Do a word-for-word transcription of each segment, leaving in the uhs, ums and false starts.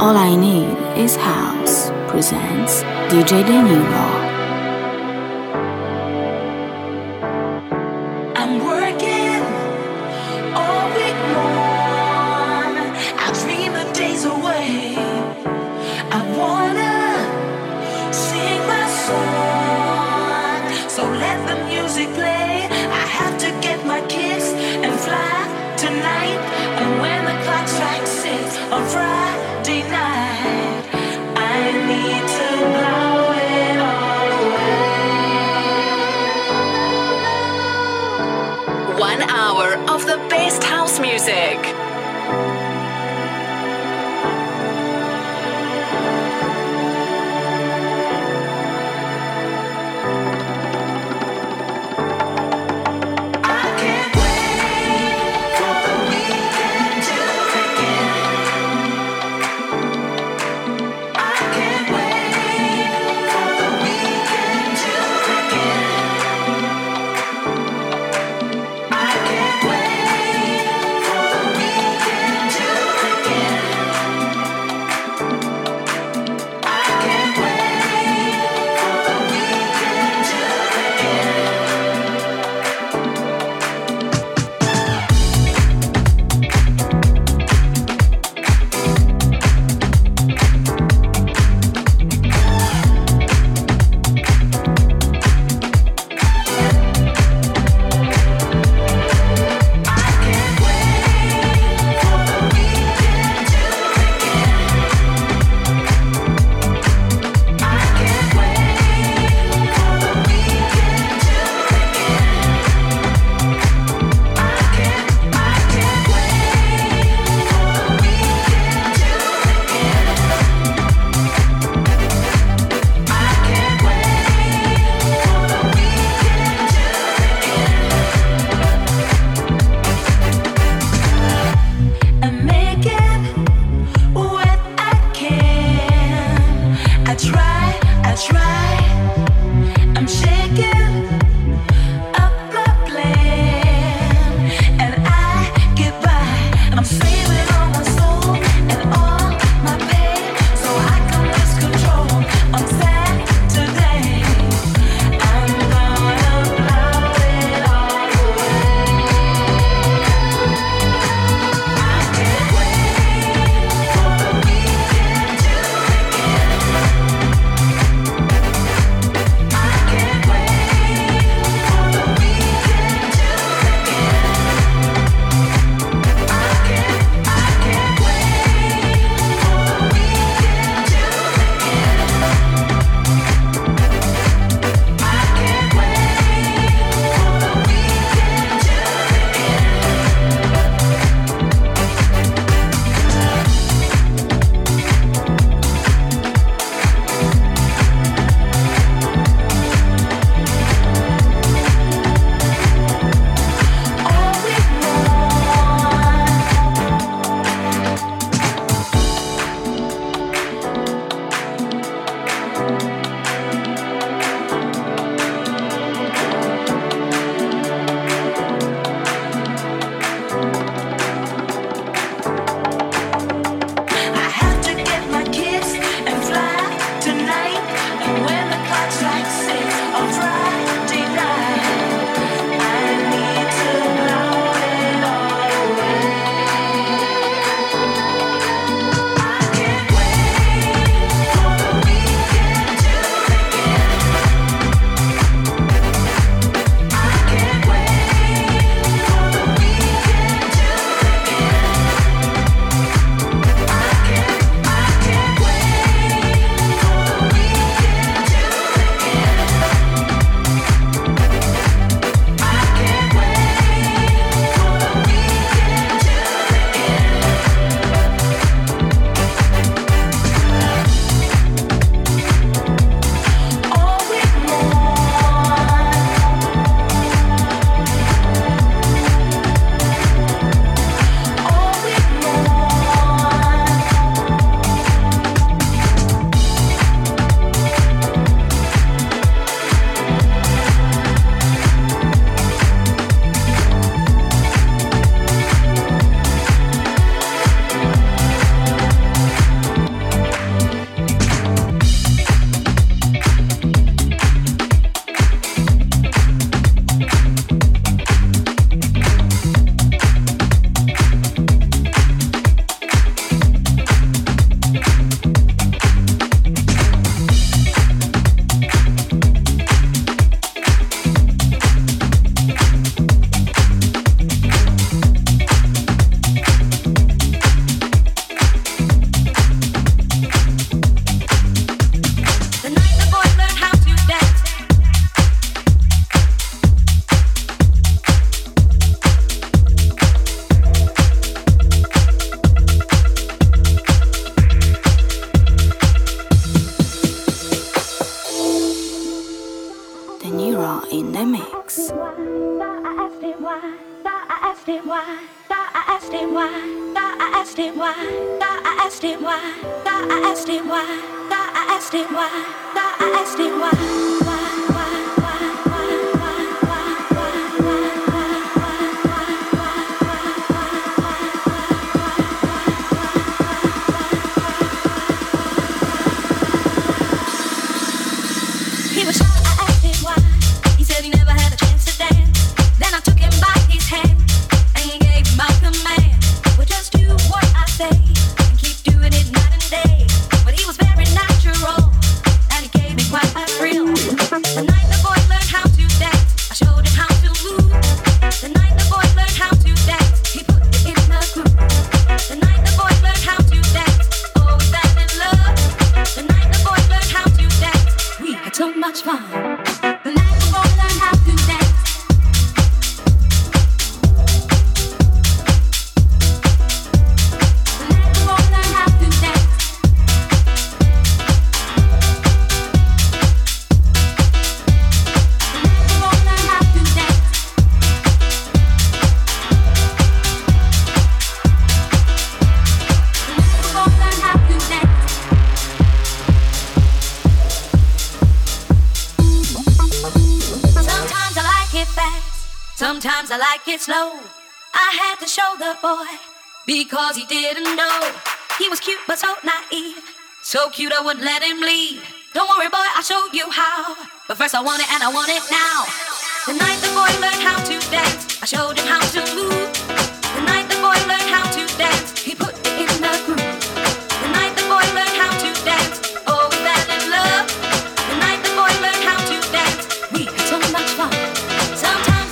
All I Need is House presents D J De Niro. I'm working all week long. I dream the days away. I wanna sing my song. So let the music play. I have to get my kicks and fly tonight. And when the clock strikes six on Friday night, I need to blow it all away. One hour of the best house music. I can't wait for the weekend to asked him why. I asked him why. I asked him why. I asked him why. I asked him why. I asked him why. I asked him why. Why? Why? He was shy, I asked him why. He said he never had a chance to dance. Then I took him by his hand and gave him my command. Well, just do what I say and keep doing it night and day. But he was very natural and he gave me quite a thrill. The night the boy learned how to dance, I showed him how to move. The night the boy learned how to dance, he put it in the groove. The night the boy learned how to dance, oh, we fell in love. The night the boy learned how to dance, we had so much fun. The night the boy learned how to dance. Sometimes I like it slow. I had to show the boy because he didn't know. He was cute but so naive, so cute I wouldn't let him leave. Don't worry boy, I'll show you how. But first I want it and I want it now. The night the boy learned how to dance, I showed him how to move. The night the boy learned how to dance, he put it in the groove. The night the boy learned how to dance, oh we fell in love. The night the boy learned how to dance, we had so much fun. Sometimes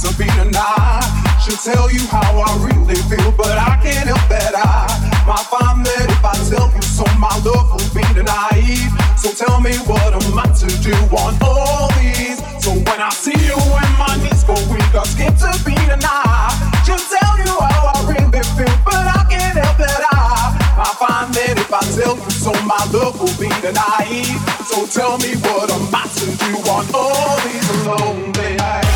to be tonight. Should tell you how I really feel, but I can't help that I might find that if I tell you so, my love will be naive. So tell me what am I to do on all these? So when I see you and my knees go weak, I skip to be tonight. Just tell you how I really feel, but I can't help that I I find that if I tell you so, my love will be naive. So tell me what am I to do on all these lonely nights?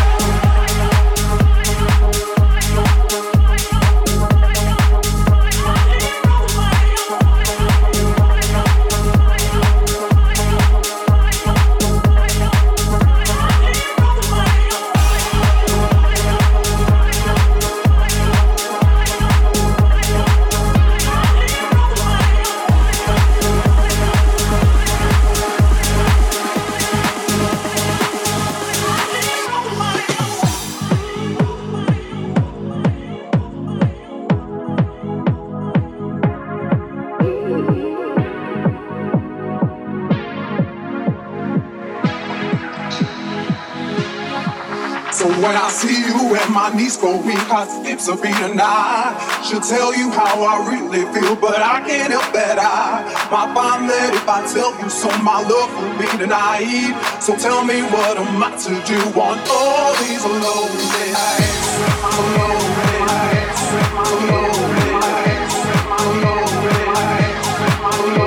When I see you and my knees go weak, I skip a beat and I should tell you how I really feel, but I can't help that I might find that if I tell you so, my love will be naive. So tell me what am I to do on all these lonely nights? Lonely nights, lonely nights, lonely nights, lonely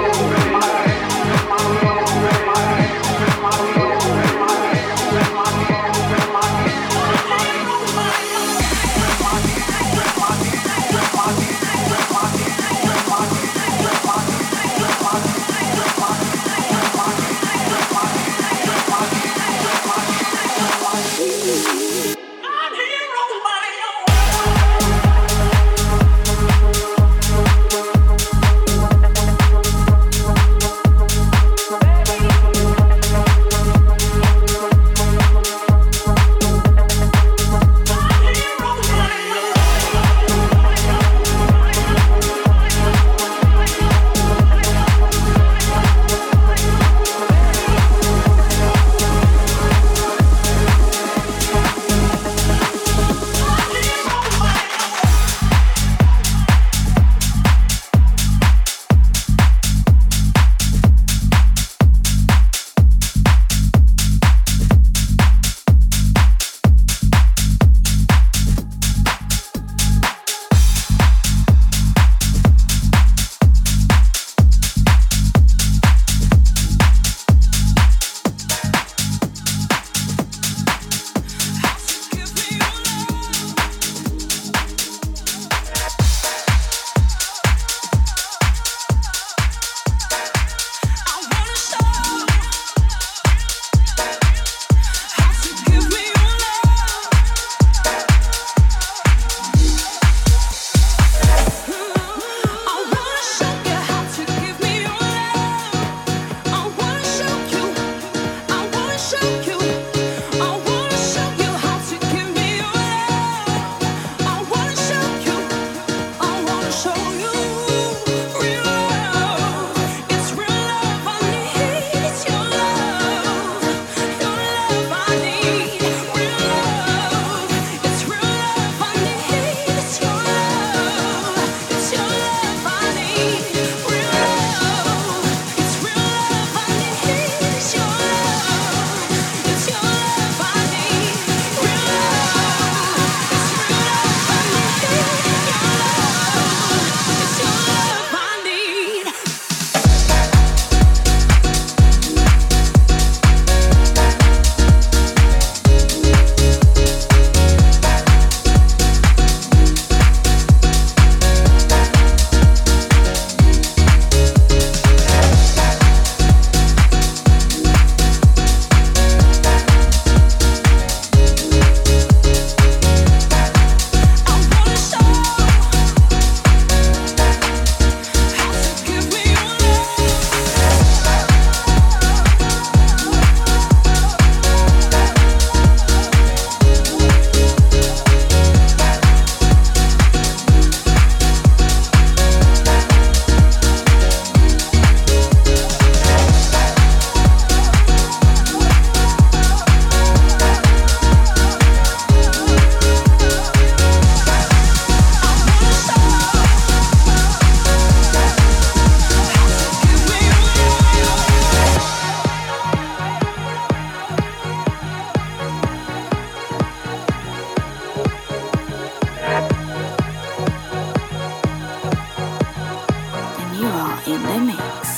the mix.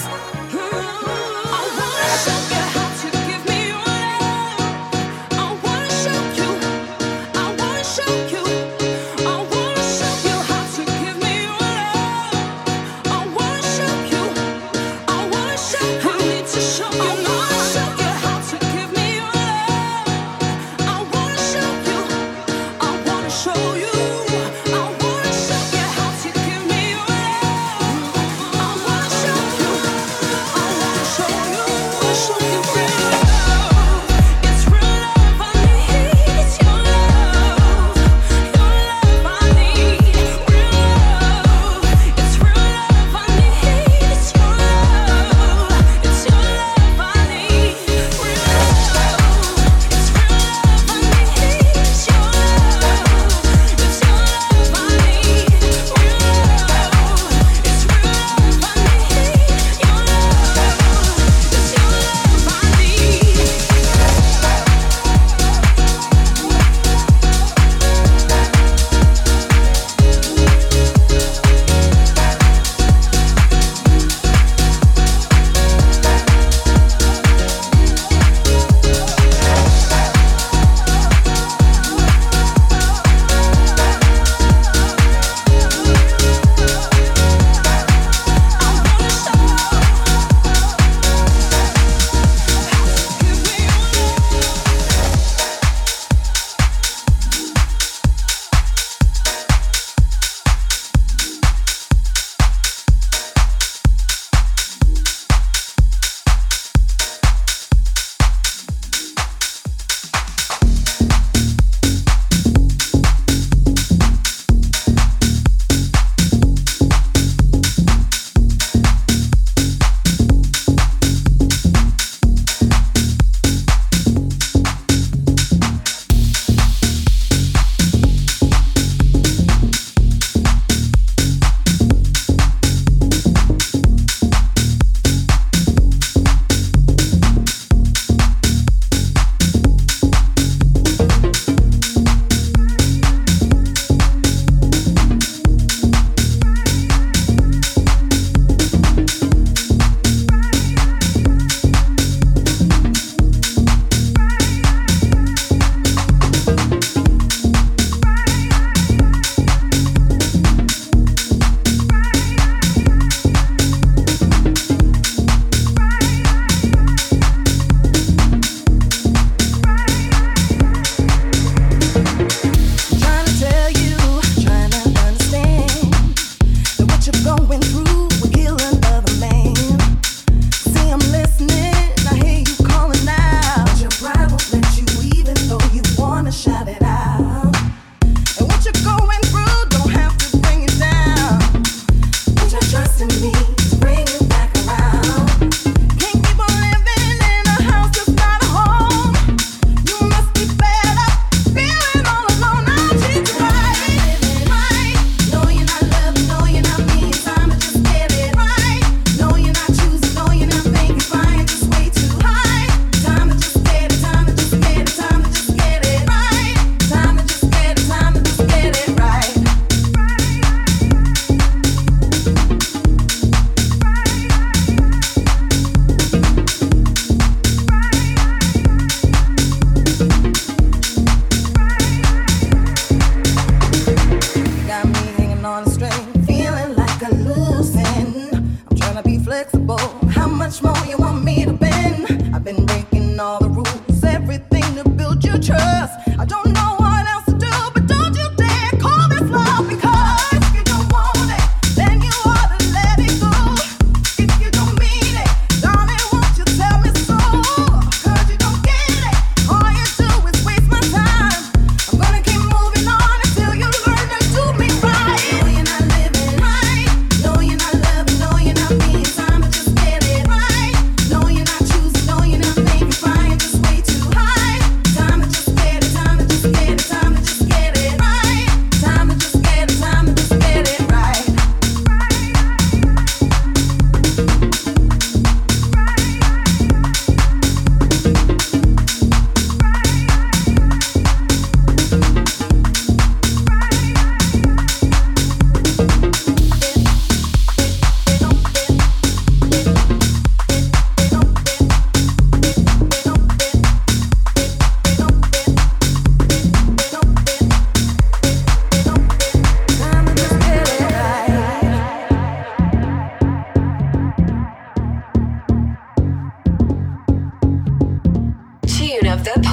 Know you're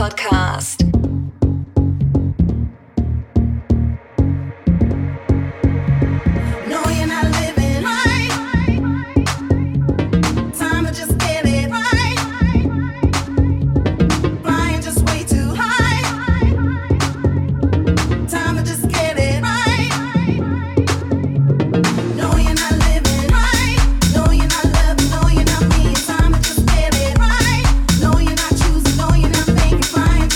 podcast. Flying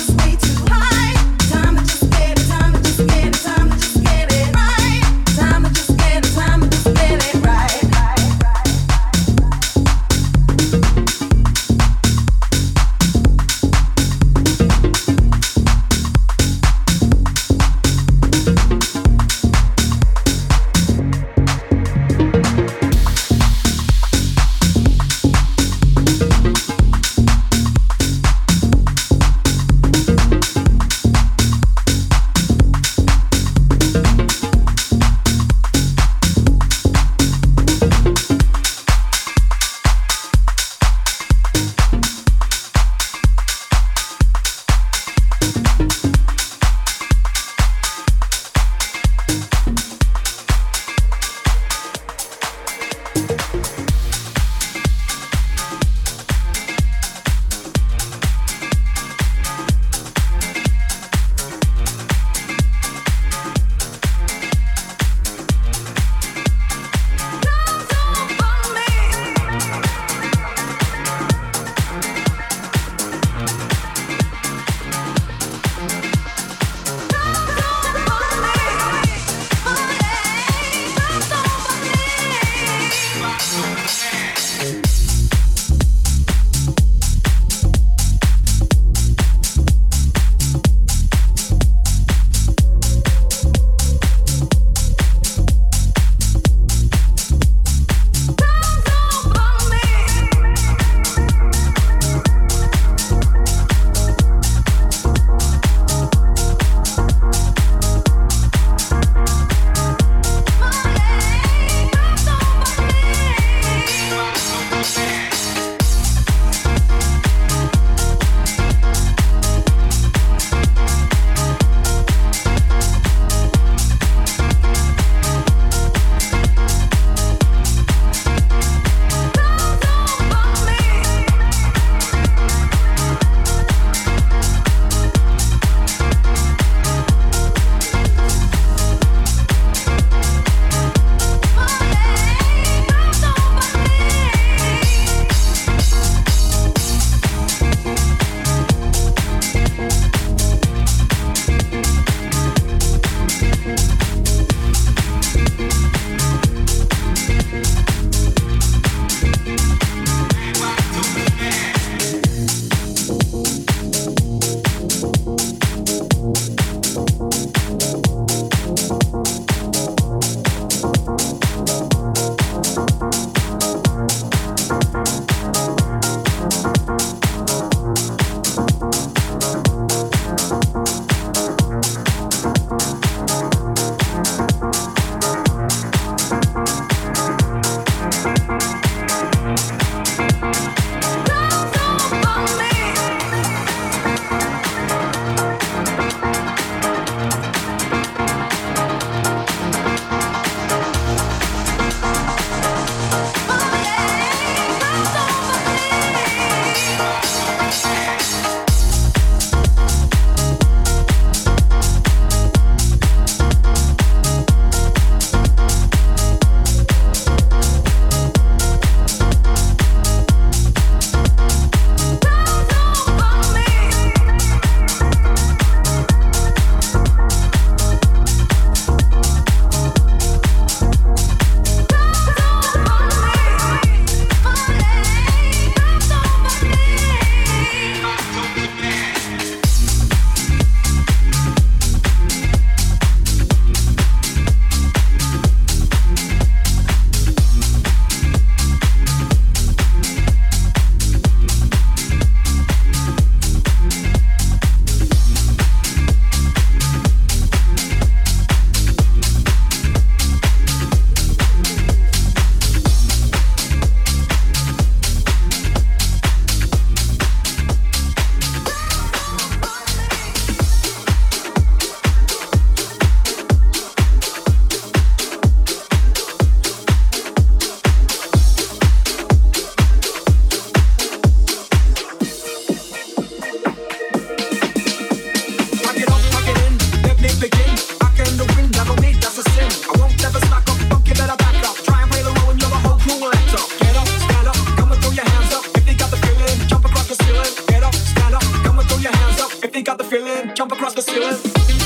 jump across the ceiling.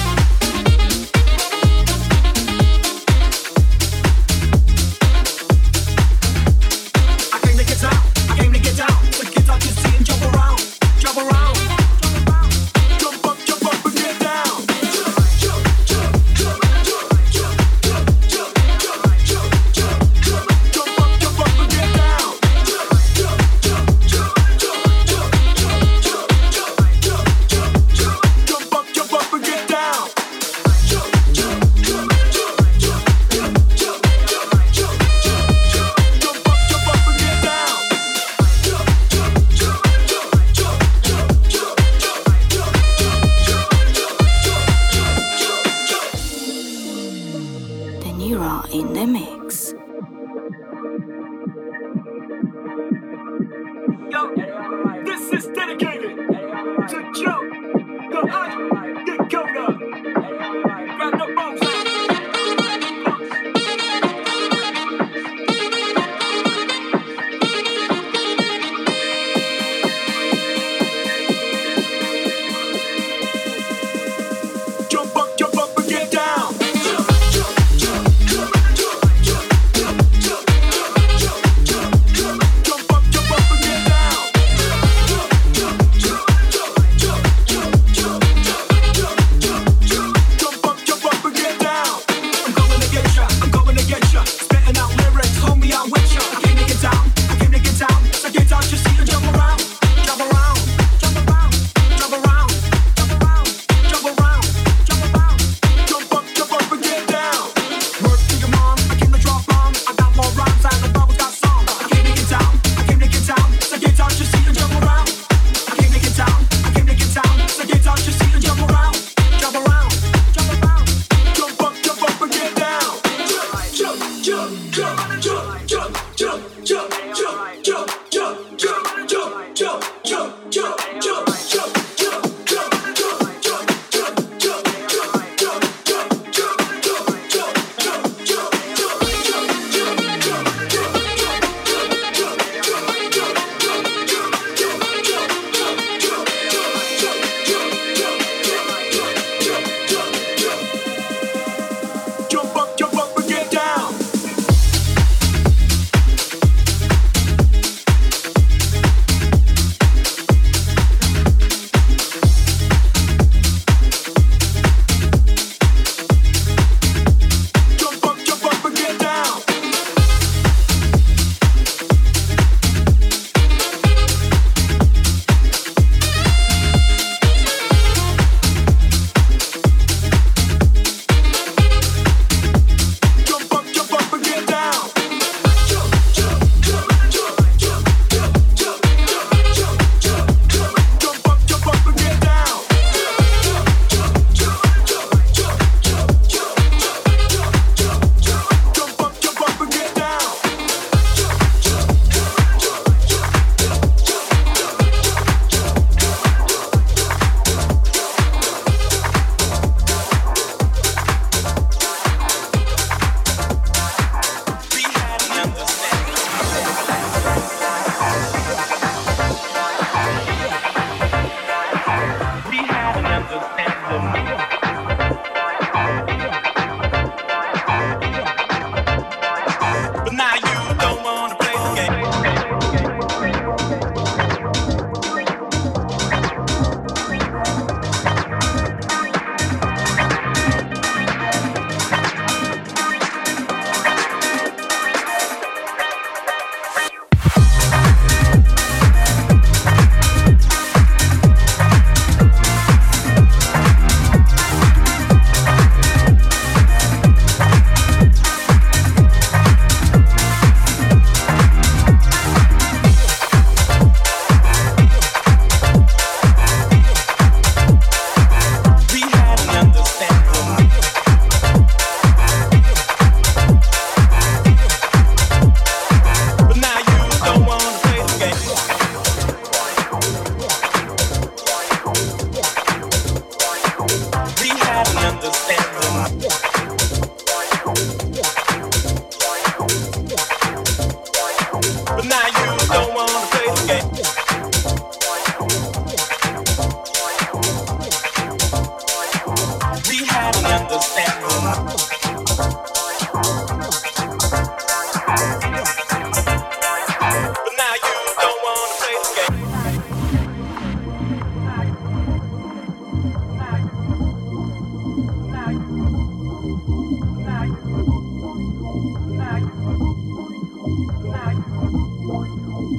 In the mix. Yo, this is dedicated to Joe, the Hot Dakota. Grab the bombs out. Jump up, jump up and get down. Jump up, jump up and get down.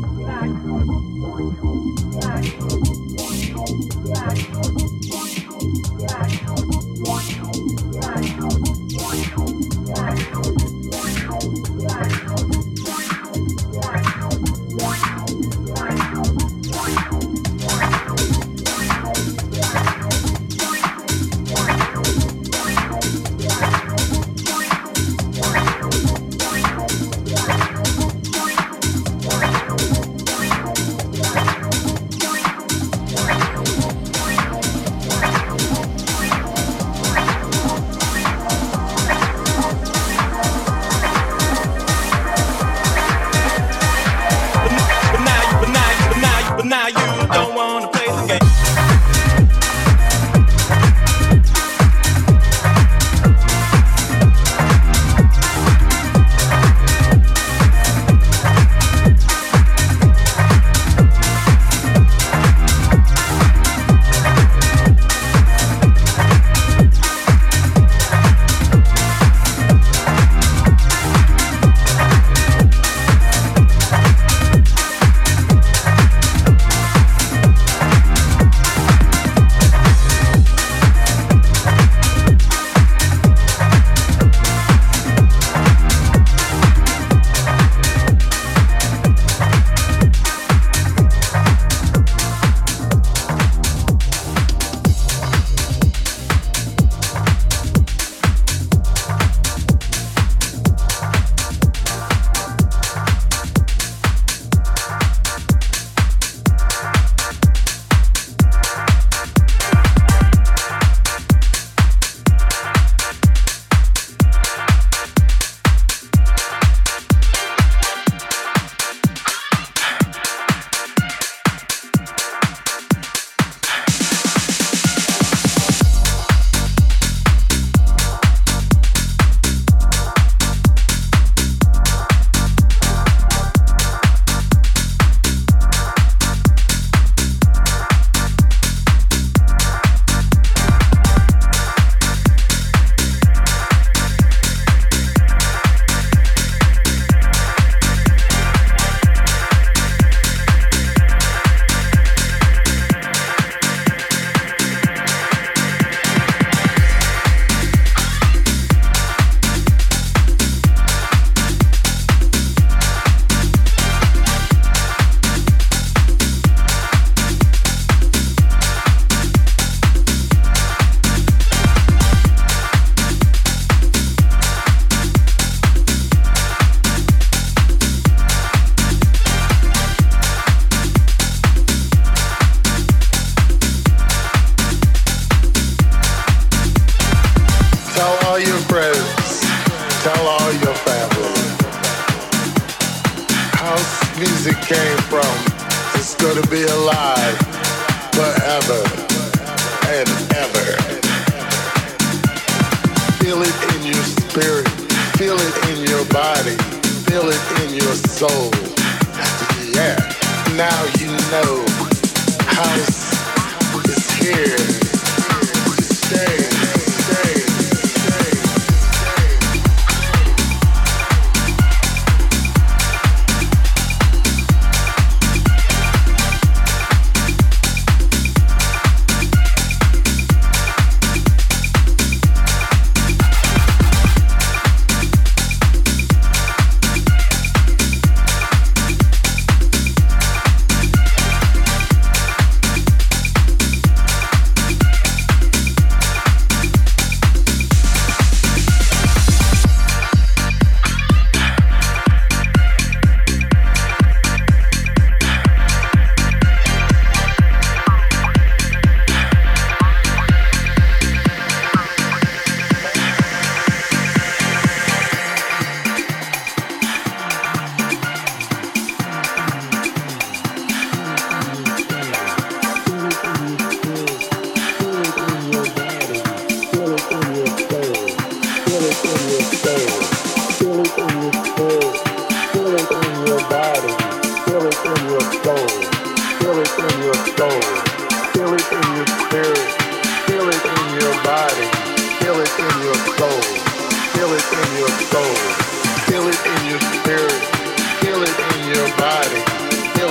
Feel it in your spirit, feel it in your body,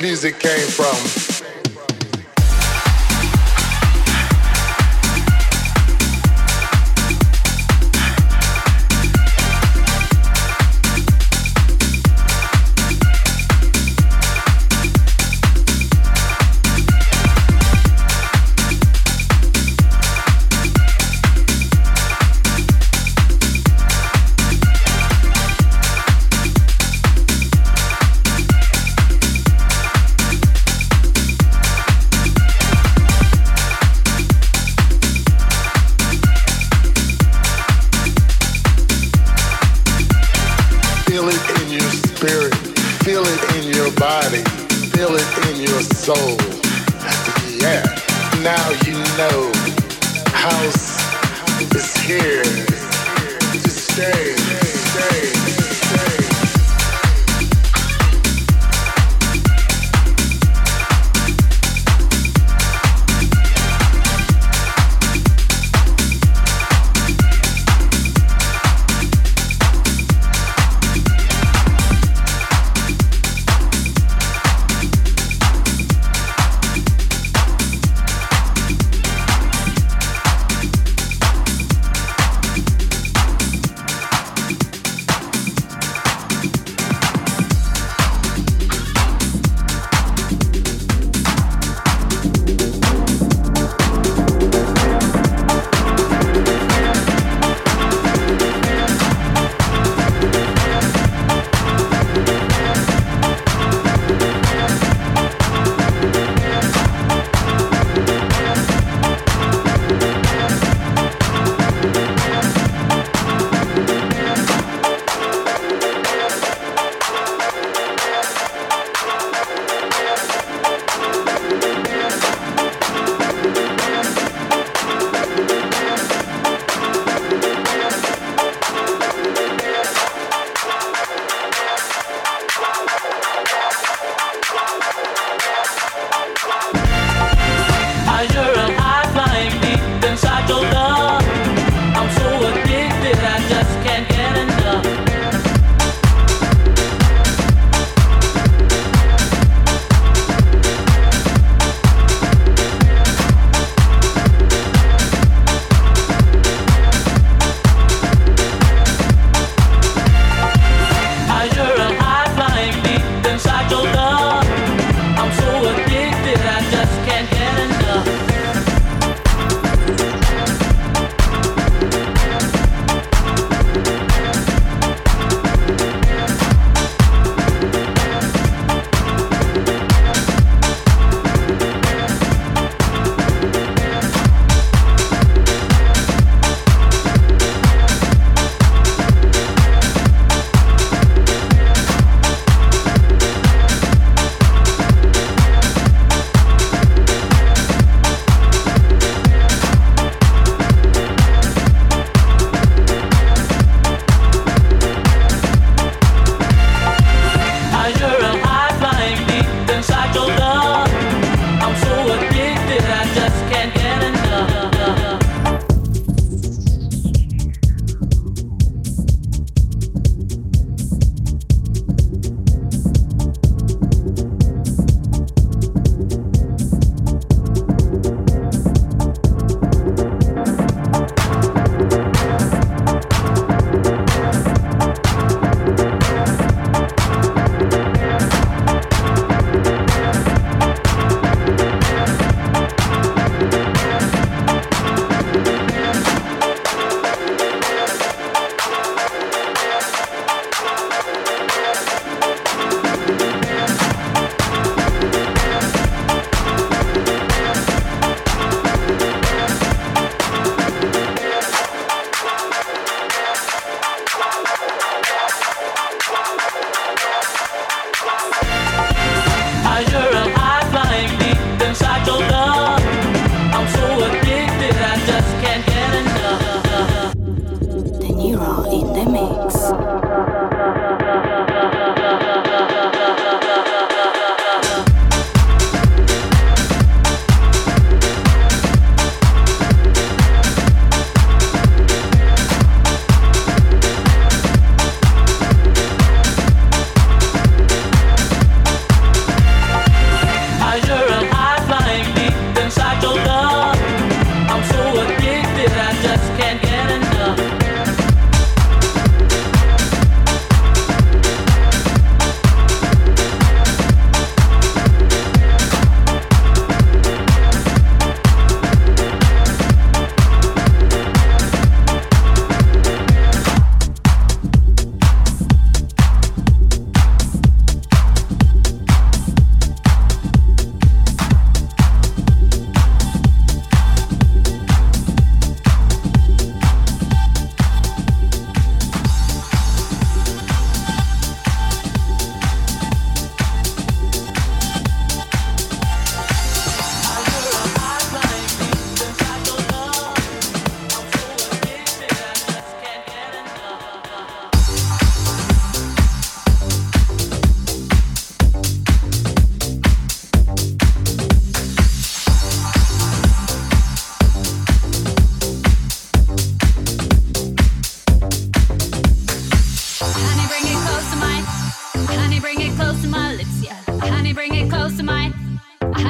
music came from.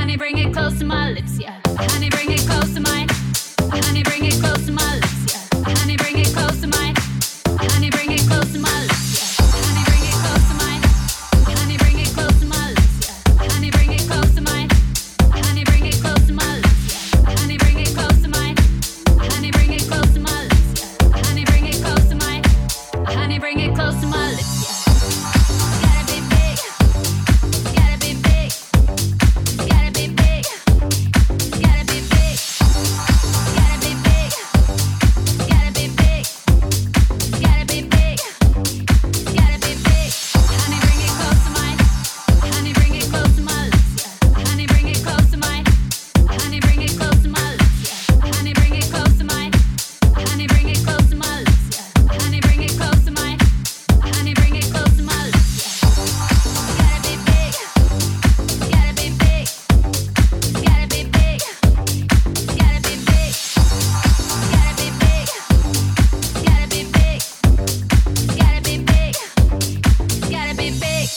Honey, bring it close to my lips, yeah. Honey, bring it close to my. Honey, bring it close to my lips, yeah. Honey, bring it close to my. Honey, bring it close to my lips, yeah. Honey, bring it close to my. Honey, bring it close to my lips, yeah. Honey, bring it close to my. Honey, bring it close to my lips, yeah. Honey, bring it close to my. Honey, bring it close to my lips, yeah. Honey, bring it close to my. Honey, bring it close to my lips, yeah. Gotta be big. Gotta be big. Gotta be big. Gotta be big. Gotta be big. Gotta be big. Gotta be big. Gotta be big. Honey, bring it close to my. Honey, bring it close to my lips, yeah. Honey, bring it close to my. Honey, bring it close to my lips, yeah. Honey, bring it close to my. Honey, bring it close to my lips, yeah. Honey, bring it close to my. Honey, bring it close to my lips, yeah. Gotta be big. Gotta be big. Gotta be big. Gotta be big. Gotta be big. Gotta be big. Gotta be big. Gotta be big.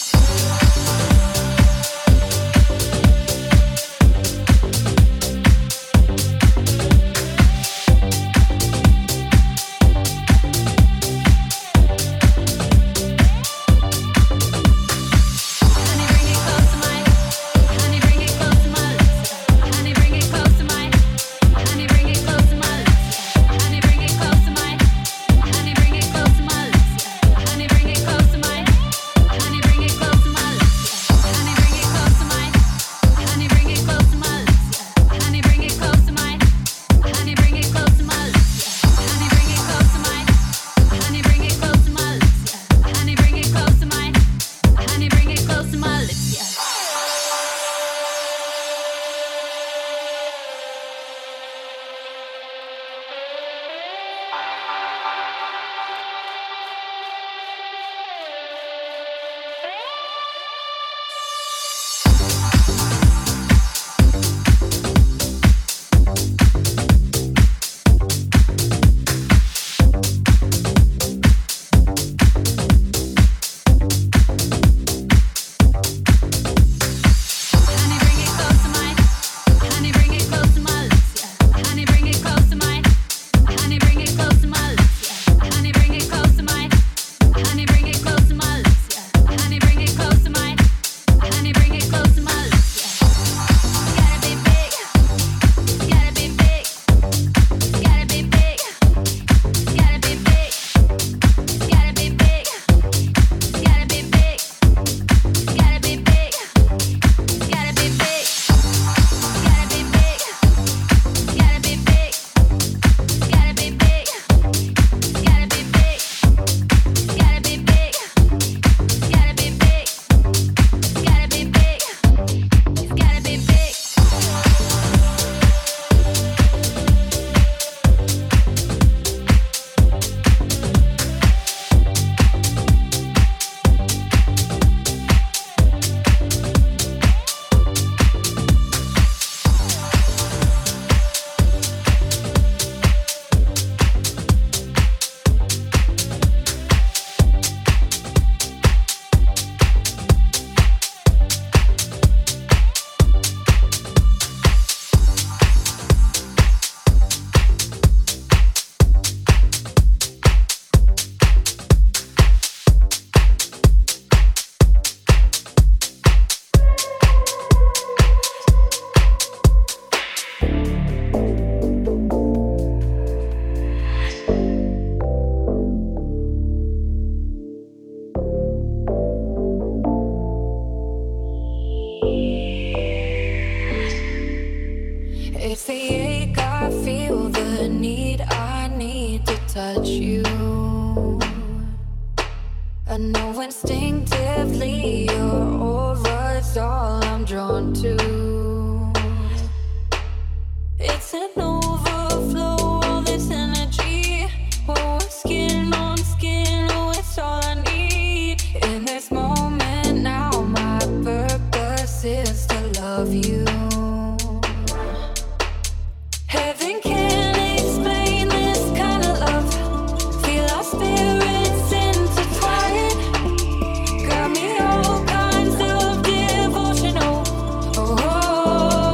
Honey, bring it close to my. Honey, bring it close to my lips, yeah. Honey, bring it close to my. Honey, bring it close to my lips, yeah. Honey, bring it close to my. Honey, bring it close to my lips, yeah. Honey, bring it close to my. Honey, bring it close to my lips, yeah. Honey, bring it close to my. Honey, bring it close to my lips, yeah. Honey, bring it close to my. Honey, bring it close to my lips, yeah. Honey, bring it close to my. Honey, bring it close to my lips, yeah. Honey, bring it close to my. Honey, bring it close to my lips, yeah. Honey, bring it close to my. Honey, bring it close to my lips, yeah. Honey, bring it close to my. Honey, bring it close to my lips, yeah. Honey, bring it close to my. Honey, bring it close to my lips, yeah. Honey, bring it close to my. Honey, bring it close to my lips, yeah. Gotta be big. Gotta be big. Gotta be big. Gotta be big. Gotta be big. Gotta be big. Gotta be big. Gotta be big. Gotta be big. Gotta be big. Gotta be big. Gotta be big. Gotta be big. Gotta be big. Gotta be big. It's gotta be big. It's the ache, I feel the need, I need to touch you. I know instinctively your aura's all I'm drawn to. It's an overflow, all this energy. Oh, skin on skin, oh, it's all I need. In this moment now, my purpose is to love you. Heaven can't explain this kind of love. Feel our spirits intertwine. Got me all kinds of devotional. Oh, oh, oh.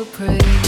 pray.